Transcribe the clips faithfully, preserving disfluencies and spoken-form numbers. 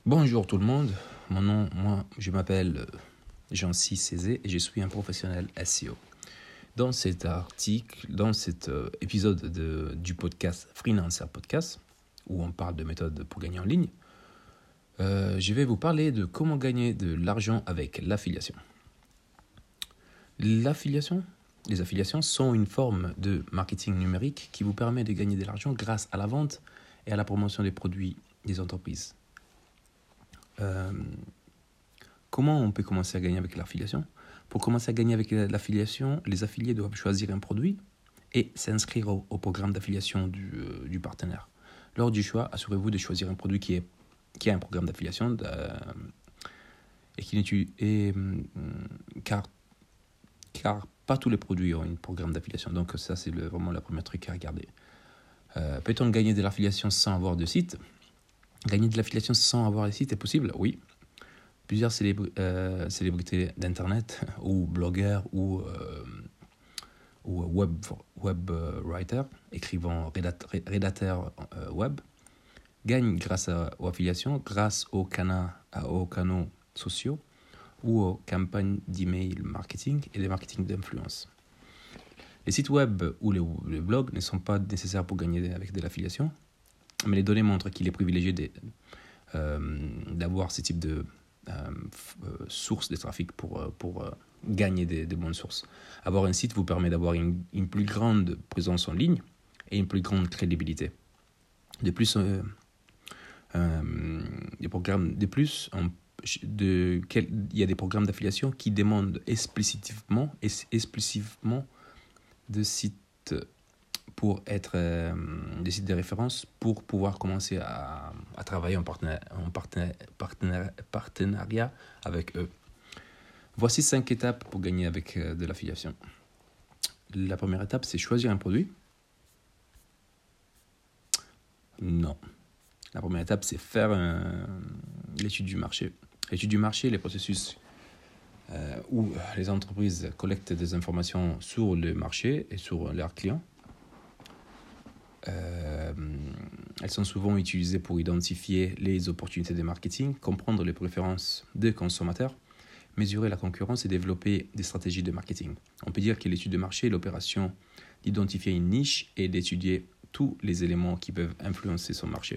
Bonjour tout le monde, mon nom, moi, je m'appelle Jean-Cy Cézé et je suis un professionnel S E O. Dans cet article, dans cet euh, épisode de, du podcast Freelancer Podcast, où on parle de méthodes pour gagner en ligne, euh, je vais vous parler de comment gagner de l'argent avec l'affiliation. L'affiliation, les affiliations sont une forme de marketing numérique qui vous permet de gagner de l'argent grâce à la vente et à la promotion des produits des entreprises. Euh, comment on peut commencer à gagner avec l'affiliation ? Pour commencer à gagner avec l'affiliation, les affiliés doivent choisir un produit et s'inscrire au, au programme d'affiliation du, euh, du partenaire. Lors du choix, assurez-vous de choisir un produit qui, est, qui a un programme d'affiliation euh, et qui n'utilise, et, euh, car, car pas tous les produits ont un programme d'affiliation. Donc ça, c'est le, vraiment le premier truc à regarder. Euh, peut-on gagner de l'affiliation sans avoir de site ? Gagner de l'affiliation sans avoir de site est possible ? Oui. Plusieurs célébr- euh, célébrités d'Internet ou blogueurs ou, euh, ou web, web writer, écrivant rédateur, rédacteur euh, web, gagnent grâce à, aux affiliations, grâce aux, cana, aux canaux sociaux ou aux campagnes d'email marketing et des marketing d'influence. Les sites web ou les, les blogs ne sont pas nécessaires pour gagner avec de l'affiliation, mais les données montrent qu'il est privilégié de, euh, d'avoir ce type de euh, euh, sources de trafic pour, euh, pour euh, gagner des, des bonnes sources. Avoir un site vous permet d'avoir une, une plus grande présence en ligne et une plus grande crédibilité. De plus, euh, euh, des programmes, de plus on, de, quel, il y a des programmes d'affiliation qui demandent explicitement, explicitement de sites pour être euh, des sites de référence pour pouvoir commencer à, à travailler en, partenaire, en partenaire, partenaire, partenariat avec eux. Voici cinq étapes pour gagner avec euh, de l'affiliation. La première étape, c'est choisir un produit. Non. La première étape, c'est faire un, l'étude du marché. L'étude du marché, les processus euh, où les entreprises collectent des informations sur le marché et sur leurs clients. Euh, elles sont souvent utilisées pour identifier les opportunités de marketing, comprendre les préférences des consommateurs, mesurer la concurrence et développer des stratégies de marketing. On peut dire que l'étude de marché est l'opération d'identifier une niche et d'étudier tous les éléments qui peuvent influencer son marché.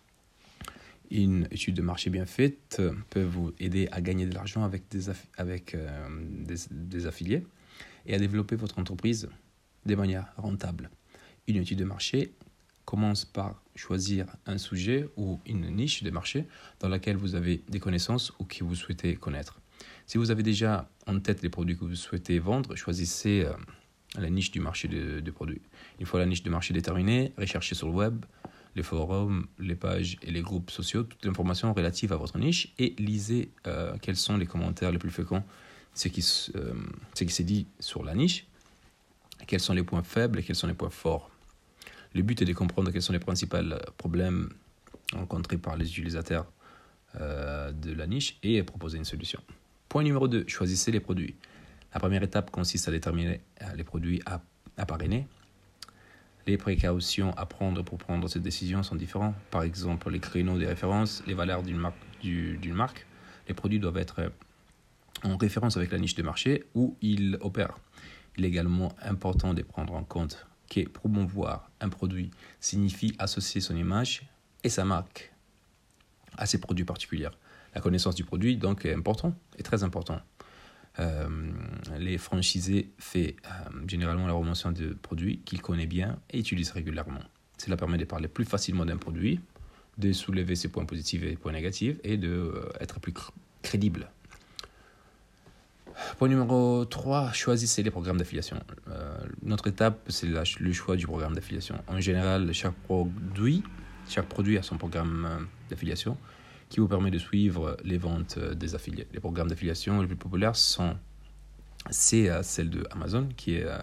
Une étude de marché bien faite peut vous aider à gagner de l'argent avec des, aff- avec, euh, des, des affiliés et à développer votre entreprise de manière rentable. Une étude de marché commence par choisir un sujet ou une niche de marché dans laquelle vous avez des connaissances ou que vous souhaitez connaître. Si vous avez déjà en tête les produits que vous souhaitez vendre, choisissez euh, la niche du marché de, de produits. Une fois la niche de marché déterminée, recherchez sur le web, les forums, les pages et les groupes sociaux toute l'information relative à votre niche et lisez euh, quels sont les commentaires les plus fréquents, ce qui, euh, ce qui s'est dit sur la niche, quels sont les points faibles et quels sont les points forts. Le but est de comprendre quels sont les principaux problèmes rencontrés par les utilisateurs euh, de la niche et proposer une solution. Point numéro deux, choisissez les produits. La première étape consiste à déterminer les produits à, à parrainer. Les précautions à prendre pour prendre cette décision sont différentes. Par exemple, les créneaux des références, les valeurs d'une marque, du, d'une marque. Les produits doivent être en référence avec la niche de marché où ils opèrent. Il est également important de prendre en compte que promouvoir un produit signifie associer son image et sa marque à ces produits particuliers. La connaissance du produit donc est important, est très important. Euh, les franchisés font euh, généralement la promotion de produits qu'ils connaissent bien et utilisent régulièrement. Cela permet de parler plus facilement d'un produit, de soulever ses points positifs et points négatifs et d'être euh, plus cr- crédible. Point numéro trois, choisissez les programmes d'affiliation. Euh, notre étape, c'est la, le choix du programme d'affiliation. En général, chaque produit, chaque produit a son programme euh, d'affiliation qui vous permet de suivre les ventes euh, des affiliés. Les programmes d'affiliation les plus populaires sont c'est euh, celle de Amazon, qui est, euh,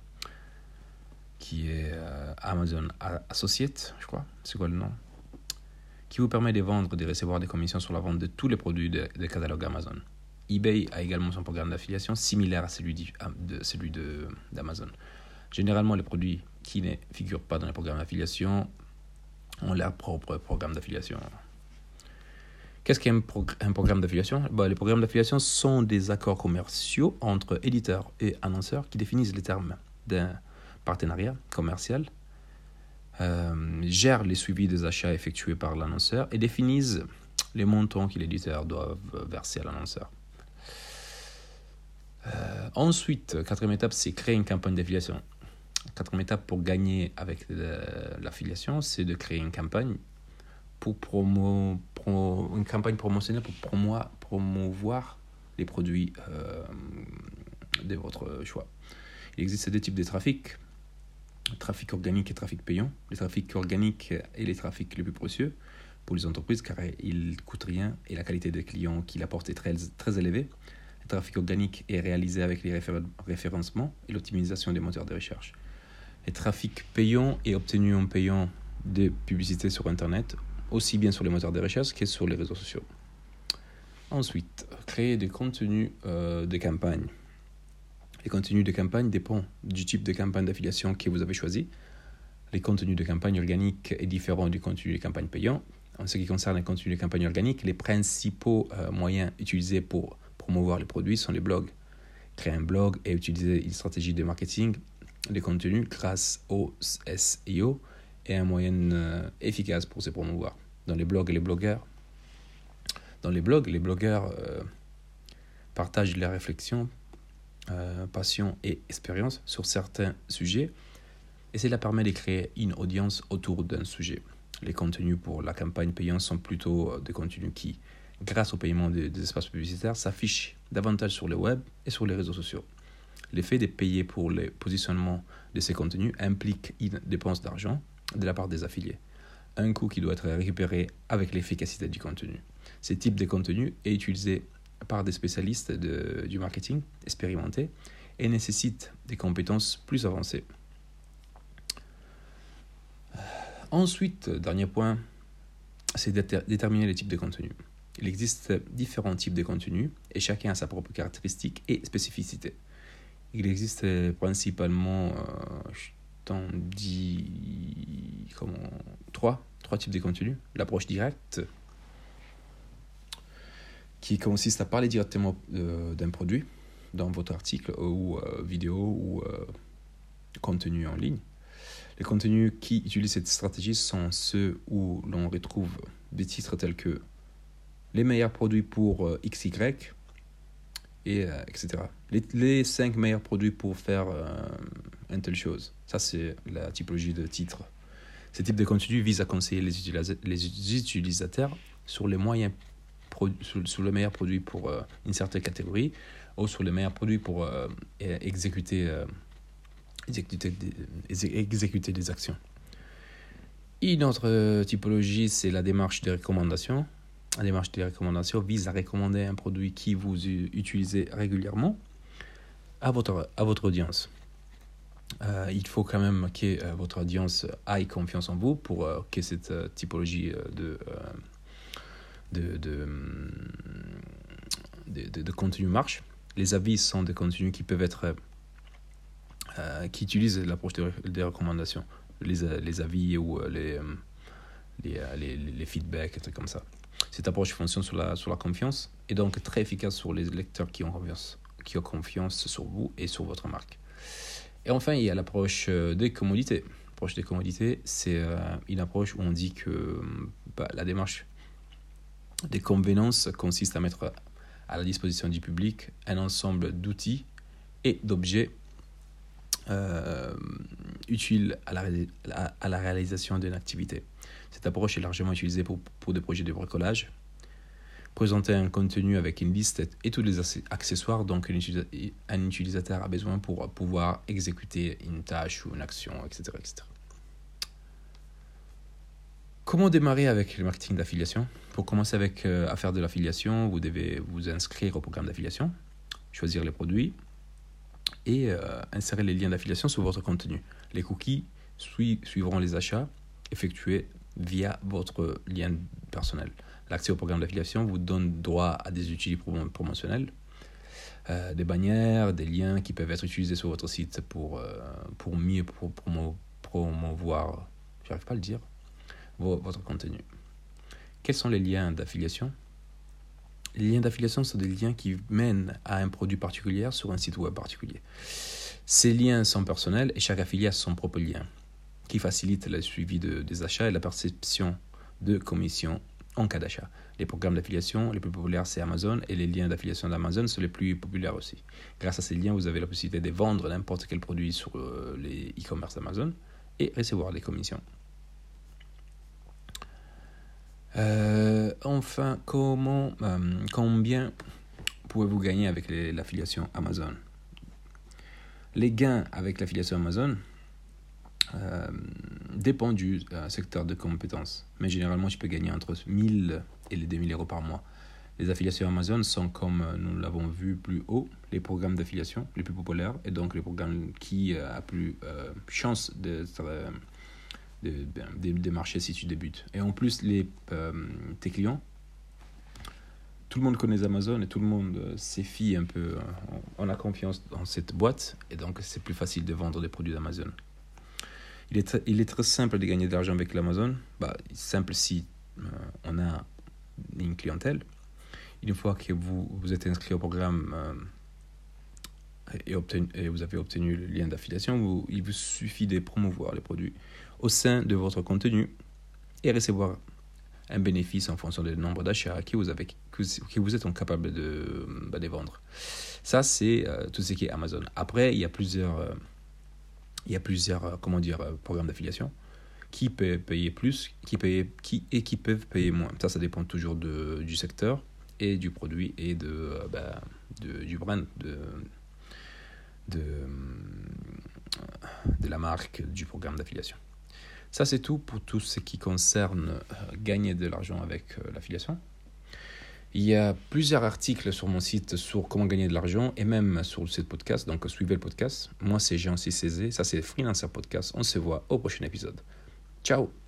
qui est euh, Amazon Associate, je crois. C'est quoi le nom ? Qui vous permet de vendre et de recevoir des commissions sur la vente de tous les produits des de catalogues Amazon. eBay a également son programme d'affiliation similaire à celui, de, celui de, d'Amazon. Généralement, les produits qui ne figurent pas dans les programmes d'affiliation ont leur propre programme d'affiliation. Qu'est-ce qu'un prog- un programme d'affiliation? Bah, les programmes d'affiliation sont des accords commerciaux entre éditeurs et annonceurs qui définissent les termes d'un partenariat commercial, euh, gèrent les suivis des achats effectués par l'annonceur et définissent les montants que l'éditeur doit verser à l'annonceur. Euh, ensuite, quatrième étape, c'est créer une campagne d'affiliation. Quatrième étape pour gagner avec le, l'affiliation, c'est de créer une campagne pour promo, pro, une campagne promotionnelle pour promo, promouvoir les produits euh, de votre choix. Il existe deux types de trafic, trafic organique et trafic payant. Le trafic organique est les trafics les plus précieux pour les entreprises car il ne coûte rien et la qualité des clients qu'il apporte est très, très élevée. Le trafic organique est réalisé avec les réfé- référencements et l'optimisation des moteurs de recherche. Le trafic payant est obtenu en payant des publicités sur Internet, aussi bien sur les moteurs de recherche que sur les réseaux sociaux. Ensuite, créer des contenus euh, de campagne. Les contenus de campagne dépendent du type de campagne d'affiliation que vous avez choisi. Les contenus de campagne organique est différent du contenu de campagne payant. En ce qui concerne les contenus de campagne organique, les principaux euh, moyens utilisés pour promouvoir les produits sont les blogs. Créer un blog et utiliser une stratégie de marketing des contenus grâce au S E O est un moyen euh, efficace pour se promouvoir. Dans les blogs et les blogueurs, dans les blogs, les blogueurs euh, partagent leurs réflexions, euh, passion et expérience sur certains sujets et cela permet de créer une audience autour d'un sujet. Les contenus pour la campagne payante sont plutôt des contenus qui, grâce au paiement des, des espaces publicitaires, s'affichent davantage sur le web et sur les réseaux sociaux. L'effet de payer pour le positionnement de ces contenus implique une dépense d'argent de la part des affiliés, un coût qui doit être récupéré avec l'efficacité du contenu. Ce type de contenu est utilisé par des spécialistes de, du marketing expérimentés et nécessite des compétences plus avancées. Ensuite, dernier point, c'est de déterminer les types de contenus. Il existe différents types de contenus et chacun a sa propre caractéristique et spécificité. Il existe principalement, euh, je t'en dis, comment, trois, trois types de contenus. L'approche directe, qui consiste à parler directement euh, d'un produit dans votre article ou euh, vidéo ou euh, contenu en ligne. Les contenus qui utilisent cette stratégie sont ceux où l'on retrouve des titres tels que les meilleurs produits pour euh, X Y, et euh, et cetera. Les, les cinq meilleurs produits pour faire euh, une telle chose. Ça, c'est la typologie de titre. Ce type de contenu vise à conseiller les, utilisa- les utilisateurs sur les moyens pro- sur, sur le meilleur produit pour euh, une certaine catégorie ou sur les meilleurs produits pour euh, exécuter, euh, exécuter, des, exécuter des actions. Une autre typologie, c'est la démarche de recommandation. La démarche de recommandation vise à recommander un produit qui vous utilisez régulièrement à votre, à votre audience. Euh, il faut quand même que euh, votre audience ait confiance en vous pour euh, que cette euh, typologie euh, de, euh, de, de, de, de, de contenu marche. Les avis sont des contenus qui peuvent être euh, qui utilisent l'approche des de recommandations, les, les avis ou les, les, les, les feedbacks, et trucs comme ça. Cette approche fonctionne sur la, sur la confiance et donc très efficace sur les lecteurs qui ont confiance, qui ont confiance sur vous et sur votre marque. Et enfin, il y a l'approche des commodités. L'approche des commodités, c'est une approche où on dit que bah, la démarche des convenances consiste à mettre à la disposition du public un ensemble d'outils et d'objets euh, utiles à la, à, à la réalisation d'une activité. Cette approche est largement utilisée pour, pour des projets de bricolage. Présenter un contenu avec une liste et tous les accessoires dont un utilisateur a besoin pour pouvoir exécuter une tâche ou une action, et cetera, et cetera. Comment démarrer avec le marketing d'affiliation? Pour commencer avec, euh, à faire de l'affiliation, vous devez vous inscrire au programme d'affiliation, choisir les produits et euh, insérer les liens d'affiliation sur votre contenu. Les cookies sui- suivront les achats effectués via votre lien personnel. L'accès au programme d'affiliation vous donne droit à des outils promotionnels, euh, des bannières, des liens qui peuvent être utilisés sur votre site pour, euh, pour mieux pour promo, promouvoir, j'arrive pas à le dire, vos, votre contenu. Quels sont les liens d'affiliation? Les liens d'affiliation sont des liens qui mènent à un produit particulier sur un site web particulier. Ces liens sont personnels et chaque affilié a son propre lien, qui facilite le suivi de, des achats et la perception de commission en cas d'achat. Les programmes d'affiliation les plus populaires, c'est Amazon, et les liens d'affiliation d'Amazon sont les plus populaires aussi. Grâce à ces liens, vous avez la possibilité de vendre n'importe quel produit sur euh, les e-commerce d'Amazon et recevoir des commissions. Euh, enfin, comment, euh, combien pouvez-vous gagner avec les, l'affiliation Amazon? Les gains avec l'affiliation Amazon euh, dépendent du euh, secteur de compétences, mais généralement, tu peux gagner entre mille et les deux mille euros par mois. Les affiliations Amazon sont, comme nous l'avons vu plus haut, les programmes d'affiliation les plus populaires et donc les programmes qui euh, a plus euh, chance d'être euh, de, de, de marcher si tu débutes. Et en plus, les, euh, tes clients, tout le monde connaît Amazon et tout le monde euh, s'y fie un peu, euh, on a confiance dans cette boîte et donc c'est plus facile de vendre des produits d'Amazon. Il est, très, il est très simple de gagner de l'argent avec l'Amazon, bah, simple si euh, on a une clientèle. Une fois que vous, vous êtes inscrit au programme euh, et, obtenu, et vous avez obtenu le lien d'affiliation, vous, il vous suffit de promouvoir les produits au sein de votre contenu et recevoir un bénéfice en fonction du nombre d'achats que vous, avez, que vous êtes capable de, bah, de vendre. Ça, c'est euh, tout ce qui est Amazon. Après, il y a plusieurs, euh, il y a plusieurs euh, comment dire, euh, programmes d'affiliation qui peuvent payer plus qui paye, qui, et qui peuvent payer moins. Ça, ça dépend toujours de, du secteur et du produit et de, euh, bah, de, du brand, de, de, de la marque du programme d'affiliation. Ça, c'est tout pour tout ce qui concerne euh, gagner de l'argent avec euh, l'affiliation. Il y a plusieurs articles sur mon site sur comment gagner de l'argent et même sur ce podcast, donc suivez le podcast. Moi, c'est Jean Cizé, ça c'est Freelancer Podcast. On se voit au prochain épisode. Ciao!